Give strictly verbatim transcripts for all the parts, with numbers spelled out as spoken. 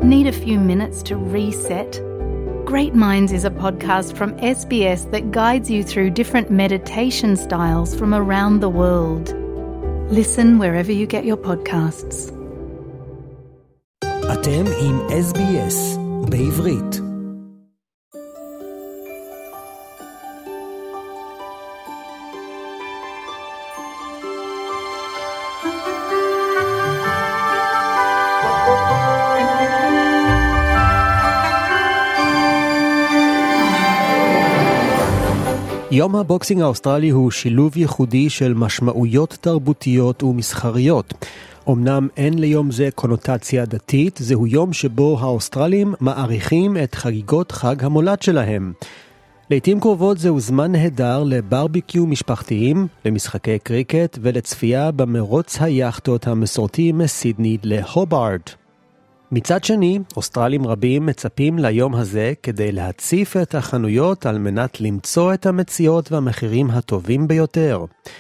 Need a few minutes to reset? Great Minds is a podcast from S B S that guides you through different meditation styles from around the world. Listen wherever you get your podcasts. אתם עם S B S בעברית. יום הבוקסינג האוסטרלי הוא שילוב ייחודי של משמעויות תרבותיות ומסחריות. אמנם אין ליום זה קונוטציה דתית, זהו יום שבו האוסטרלים מעריכים את חגיגות חג המולד שלהם. לעתים קרובות זהו זמן נהדר לברביקיו משפחתיים, למשחקי קריקט ולצפייה במרוץ היאכטות המסורתי מסידני להובארד. מצד שני, אוסטרלים רבים מצפים ליום הזה כדי להציף את החנויות על מנת למצוא את המציאות והמחירים הטובים ביותר.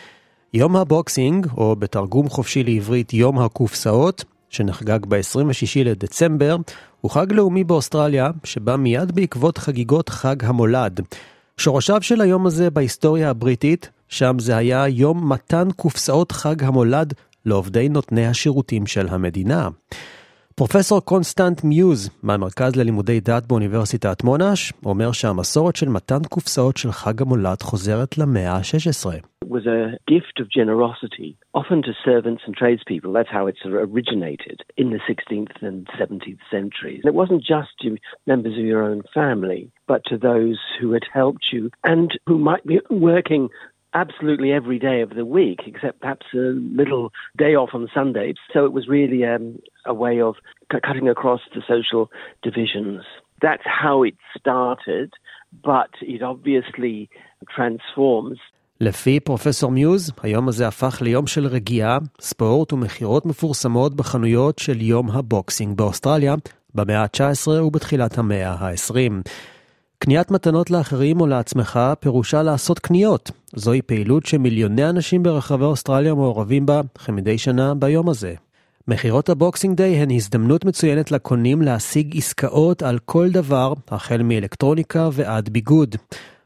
יום הבוקסינג, או בתרגום חופשי לעברית יום הקופסאות, שנחגג ב-עשרים ושישה לדצמבר, הוא חג לאומי באוסטרליה, שבא מיד בעקבות חגיגות חג המולד. שורשיו של היום הזה בהיסטוריה הבריטית, שם זה היה יום מתן קופסאות חג המולד לעובדי נותני השירותים של המדינה. פרופסור קונסטנט מיוז מהמרכז ללימודי דת באוניברסיטת מונש אומר שהמסורת של מתן קופסאות של חג המולד חוזרת למאה ה-שש עשרה. It was a gift of generosity, often to servants and tradespeople. That's how it originated in the sixteenth and seventeenth centuries. It wasn't just to members of your own family, but to those who had helped you and who might be working absolutely every day of the week, except perhaps a little day off on Sunday. So it was really um, a way of c- cutting across the social divisions. That's how it started, but it obviously transforms. לפי פרופסור מיוז, היום הזה הפך ליום של רגיעה, ספורט ומחירות מפורסמות בחנויות של יום הבוקסינג באוסטרליה, במאה ה-תשע עשרה ובתחילת המאה ה-עשרים. קניית מתנות לאחרים או לעצמך פירושה לעשות קניות. זוהי פעילות שמיליוני אנשים ברחבי אוסטרליה מעורבים בה כמדי שנה ביום הזה. מחירות הבוקסינג דיי הן הזדמנות מצוינת לקונים להשיג עסקאות על כל דבר, החל מאלקטרוניקה ועד ביגוד.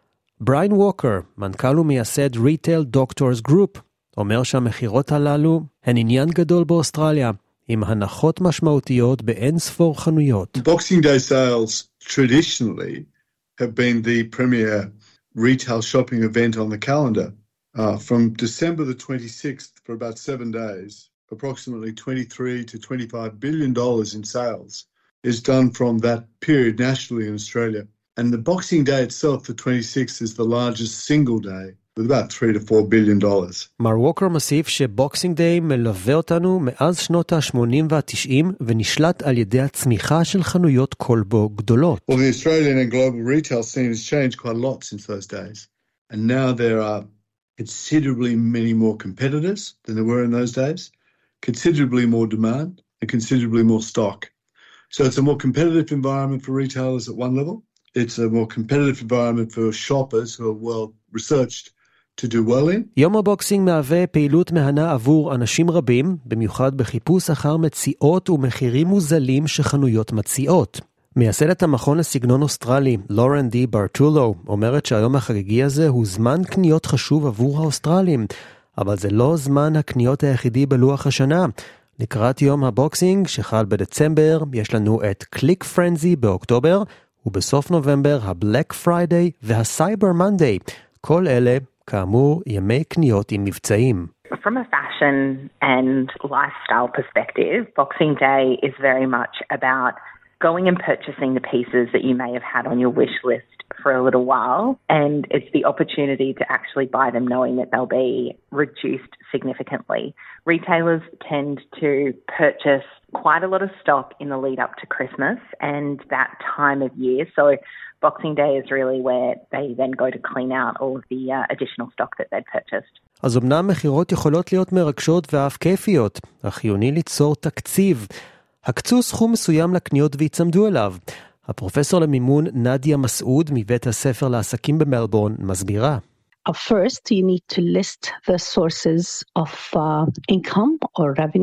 בריין ווקר, מנכ"ל ומייסד ריטייל דוקטורס גרופ, אומר שהמחירות הללו הן עניין גדול באוסטרליה, עם הנחות משמעותיות באין ספור חנויות. Boxing Day sales traditionally have been the premier retail shopping event on the calendar. Uh, from December the twenty-sixth for about seven days, approximately twenty-three to twenty-five billion dollars in sales is done from that period nationally in Australia. And the Boxing Day itself, the twenty-sixth, is the largest single day with about three to four billion dollars. מר ווקר מוסיף שבוקסינג דיי מלווה אותנו מאז שנות ה-שמונים וה-תשעים ונשלט על ידי הצמיחה של חנויות קולבו גדולות. Well, the Australian and global retail scene has changed quite a lot since those days. And now there are considerably many more competitors than there were in those days, considerably more demand, and considerably more stock. So it's a more competitive environment for retailers at one level. It's a more competitive environment for shoppers who are well researched to do well in. יום הבוקסינג מהווה פעילות מהנה עבור אנשים רבים, במיוחד בחיפוש אחר מציאות ומחירים מוזלים שחנויות מציעות. מייסדת המכון לסגנון אוסטרלי, לורן די ברטולו, אומרת שהיום החגיגי הזה הוא זמן קניות חשוב עבור האוסטרלים, אבל זה לא זמן הקניות היחידי בלוח השנה. לקראת יום הבוקסינג, שחל בדצמבר, יש לנו את קליק פרנזי באוקטובר, ובסוף נובמבר הבלק פריידיי והסייבר מנדיי. כל אלה, כאמור, ימי קניות עם מבצעים. From a fashion and lifestyle perspective, Boxing Day is very much about going and purchasing the pieces that you may have had on your wish list for a little while, and it's the opportunity to actually buy them knowing that they'll be reduced significantly. Retailers tend to purchase quite a lot of stock in the lead up to Christmas and that time of year, so Boxing Day is really where they then go to clean out all of the uh, additional stock that they'd purchased. אז אמנם מחירות יכולות להיות מרגשות ואף כיפיות, אך חיוני ליצור תקציב. הקצו סכום מסוים לקניות והצמדו אליו. הפרופסור למימון נדיה מסעוד מבית הספר לעסקים במלבורן מסבירה. First, you need to list the sources of uh, income or revenue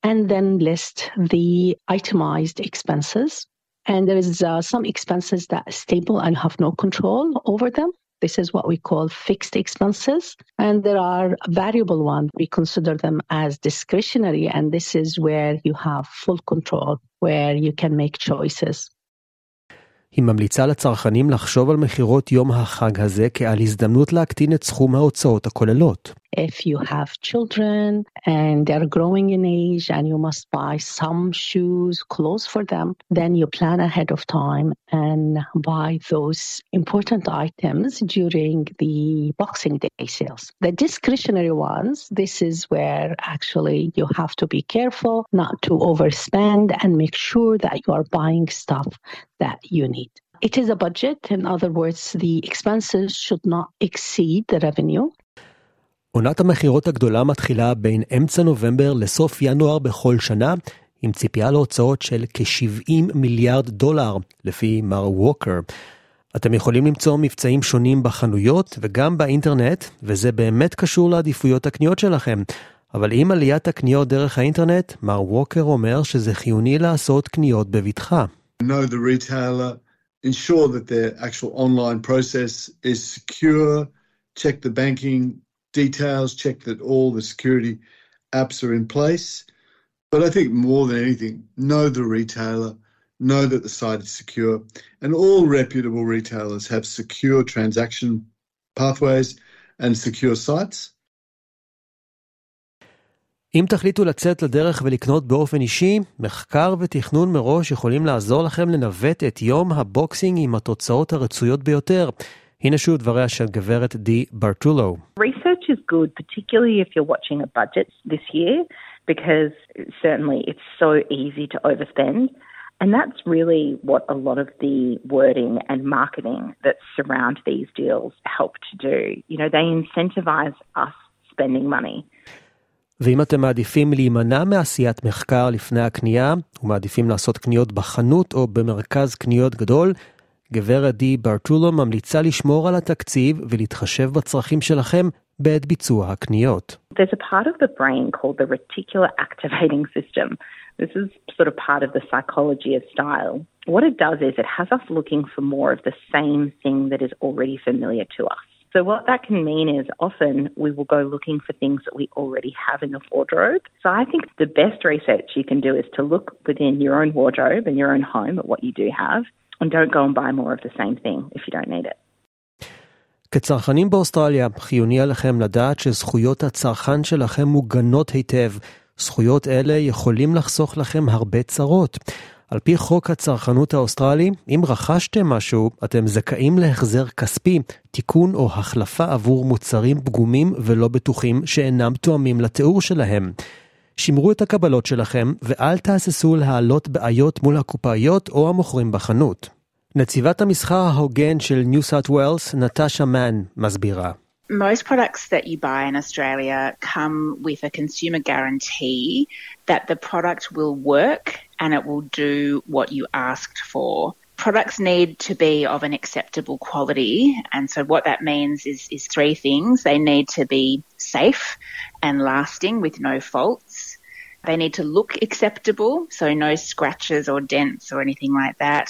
and then list the itemized expenses. And there is uh, some expenses that are stable and have no control over them. This is what we call fixed expenses. And there are variable ones. We consider them as discretionary, and this is where you have full control, where you can make choices. היא ממליצה לצרכנים לחשוב על מחירות יום החג הזה כעל הזדמנות להקטין את סכום ההוצאות הכוללות. If you have children and they're growing in age and you must buy some shoes, clothes for them, then you plan ahead of time and buy those important items during the Boxing Day sales. The discretionary ones, this is where actually you have to be careful not to overspend and make sure that you are buying stuff that you need. It is a budget. In other words, the expenses should not exceed the revenue. עונת המחירות הגדולה מתחילה בין אמצע נובמבר לסוף ינואר בכל שנה, עם ציפייה להוצאות של כ-שבעים מיליארד דולר, לפי מר ווקר. אתם יכולים למצוא מבצעים שונים בחנויות וגם באינטרנט, וזה באמת קשור לעדיפויות הקניות שלכם. אבל עם עליית הקניות דרך האינטרנט, מר ווקר אומר שזה חיוני לעשות קניות בבטחה. Know the retailer, ensure that their actual online process is secure, check the banking details, check that all the security apps are in place. But I think more than anything, know the retailer, know that the site is secure, and all reputable retailers have secure transaction pathways and secure sites. אם תחליטו לצאת לדרך ולקנות באופן אישי, מחקר ותכנון מראש יכולים לעזור לכם לנווט את יום הבוקסינג עם התוצאות הרצויות ביותר. הנה שוב דבריה של גברת די ברטולו. Research is good, particularly if you're watching a budget this year, because certainly it's so easy to overspend. And that's really what a lot of the wording and marketing that surround these deals help to do. You know, they incentivize us spending money. ואם אתם מעדיפים להימנע מעשיית מחקר לפני הקנייה, ומעדיפים לעשות קניות בחנות או במרכז קניות גדול, גברת די ברטולו ממליצה לשמור על התקציב ולהתחשב בצרכים שלכם בעת ביצוע הקניות. There's a part of the brain called the reticular activating system. This is sort of part of the psychology of style. What it does is it has us looking for more of the same thing that is already familiar to us. So what that can mean is often we will go looking for things that we already have in the wardrobe. So I think the best research you can do is to look within your own wardrobe and your own home at what you do have, and don't go and buy more of the same thing if you don't need it. כצרכנים באוסטרליה, חיוני עליכם לדעת שזכויות הצרכן שלכם מוגנות היטב. זכויות אלה יכולים לחסוך לכם הרבה צרות. על פי חוק הצרכנות האוסטרלי, אם רכשתם משהו, אתם זכאים להחזר כספי, תיקון או החלפה עבור מוצרים פגומים ולא בטוחים שאינם תואמים לתיאור שלהם. שמרו את הקבלות שלכם ואל תהססו להעלות בעיות מול הקופאיות או המוכרים בחנות. נציבת המסחר ההוגן של ניו סאות' ווילס, נטשה מן, מסבירה. Most products that you buy in Australia come with a consumer guarantee that the product will work and it will do what you asked for. Products need to be of an acceptable quality, and so what that means is, is three things. They need to be safe and lasting with no faults. They need to look acceptable, so no scratches or dents or anything like that.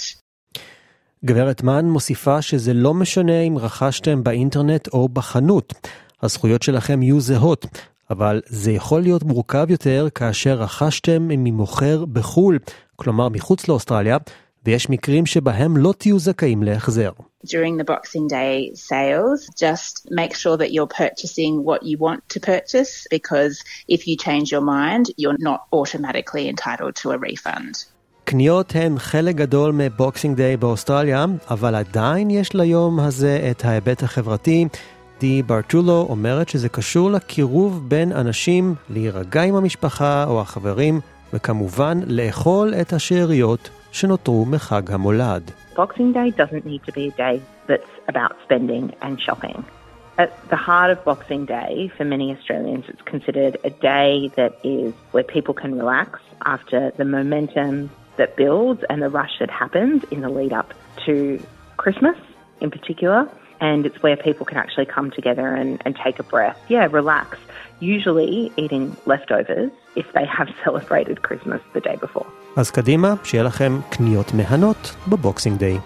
גברת מן מוסיפה שזה לא משנה אם רכשתם באינטרנט או בחנות. הזכויות שלכם יהיו זהות, אבל זה יכול להיות מורכב יותר כאשר רכשתם ממוכר בחול, כלומר מחוץ לאוסטרליה, ויש מקרים שבהם לא תהיו זכאים להחזר. During the Boxing Day sales, just make sure that you're purchasing what you want to purchase, because if you change your mind, you're not automatically entitled to a refund. קניות הן חלק גדול מבוקסינג דיי באוסטרליה, אבל עדיין יש ליום הזה את ההיבט החברתי. די ברטולו אומרת שזה קשור לקירוב בין אנשים, להירגע עם המשפחה או החברים, וכמובן לאכול את השאריות שנותרו מחג המולד. Boxing Day doesn't need to be a day that's about spending and shopping. At the heart of Boxing Day, for many Australians, it's considered a day that is where people can relax after the momentum that builds and the rush that happens in the lead up to Christmas in particular. and it's where people can actually come together and, and take a breath. Yeah, relax. Usually eating leftovers if they have celebrated Christmas the day before. אז קדימה, שיהיה לכם קניות מהנות בבוקסינג דיי.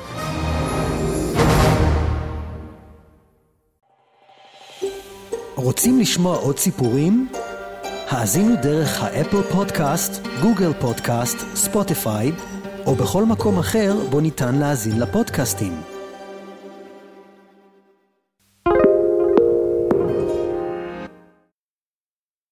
רוצים לשמוע עוד סיפורים? האזינו דרך האפל פודקאסט, גוגל פודקאסט, ספוטיפיי, או בכל מקום אחר בו ניתן להאזין לפודקאסטים.